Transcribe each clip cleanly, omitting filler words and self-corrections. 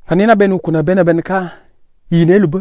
Fanina benu kuna ben ka yine lube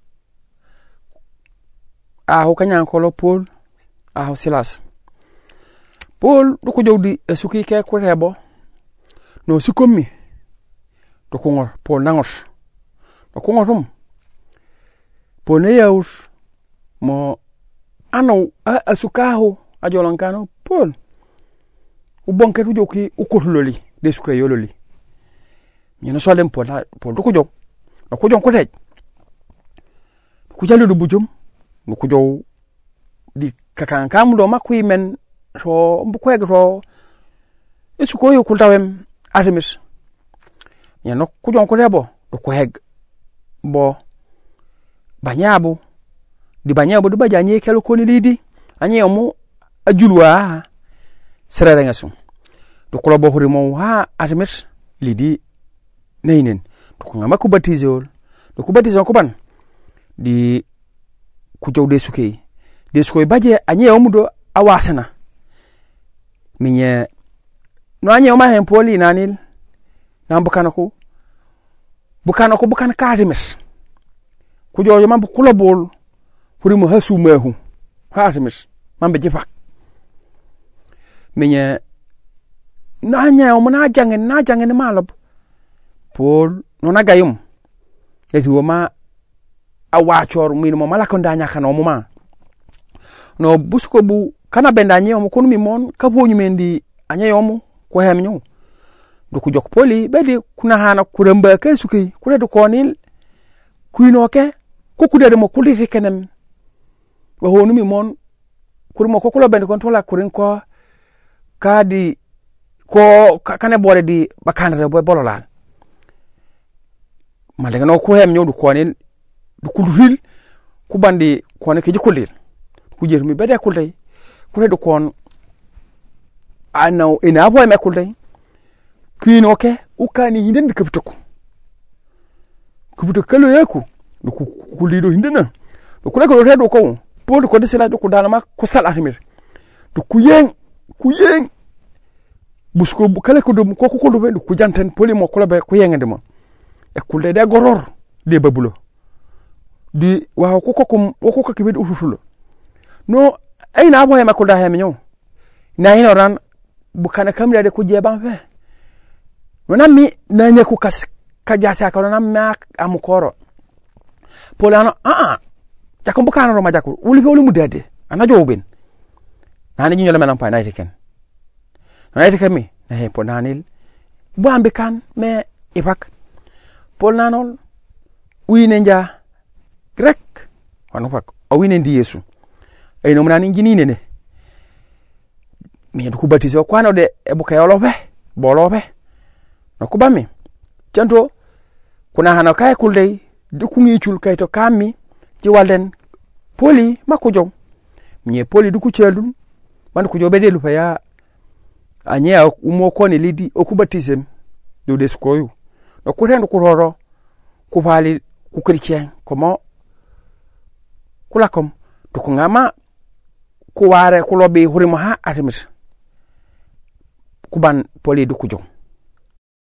aho kanya kolo Paul aho Silas. Paul du ko jowdi esuki ke ko rebo no sikomi do ko ngor Paul nangos do ko ngorum Paul ne yaus mo ano asukaho ajolankano Paul u bonke du joki u kotuloli de suka yololi ñene so dem Paul du ko jog do ko jon ko tej ku jalu du bujum du ko jow di kakan kam do makui men so mbukweg ro isuko yo kultawem Artemis ñene ku jon ko rebo do ko heg bo banyabu di banyabu du bajanye kelo ko ni lidi anye mu ajulwa serere ngasu do ko bo huri mo ha Artemis lidi neinen do ko ngama ku batizol do ku batizol ko ban di ku jowde suke de suko baje anye mu do awasana minye no anye ma hen poli nanil nan bukana ko bukan ka Artemis ku jojo mambu kulobol huri mo hasu mehu ha Artemis mambe jifak minye nanya o mona jangen malab Paul no nagayum eti wo ma awachor min mo malako ndanya kana mo ma no busko bu kana bendanye mo kunu mi mon ka bonyu mendi anya yomu ko hemnyo do ku jok poli bedi kuna hana kuramba ke suki kure do konil kuinoke ko kudere mo kuliti kenem wa honu mi mon kurmo ko kulo bende kontola kurin ko kadi ko kane bore di bakandre boy bololan malega no ko hem nyodu ko ne du kulfil ku bandi ko ne ke jikulil ku jer mi bede kulday ku redu kon anaw ina boy me kulday kuino ke ukani hinden kaptuko kubuto kalo yaku du kulido hindena du ku ko redu ko Paul ko desela du ko dalama ko sal Artemis du kuyeng busko kala ko dum ko do be ku janten Paul mo ko be ko yengende mo e kulde de goror de babulo di wa ko ke be ufufulo no ay na boye makul da hemenyo na ino ran bu kana kamra de ku jeban fe no nammi na nyaku kas ka jasa ka no namma am koro Paul ano jakom bukana ro majaku uli mu dede ana jowben nani nyolo menan pa naiteken mi na he ponanil bu ambe kan me ifak Paul nanol wine nja grek wanu fak o wine ndi Yesu ay no mnan ngini nene mi du baptiser ko ano de e buka yolobe bolobe no ko bammi janto kuna hana kay kulde du ku ngi chul kay to kammi ci walden Poli mako jow mi Poli du ku chelun man ku jobe delu fa ya anya umo ko ne lidi o ku baptisem do des koyu no ko rendo ku roro ku fali ku chrétien comment kula kom to ko ngama ku ware ku lobe hurimo ha Artemis ku ban Poli du ku jow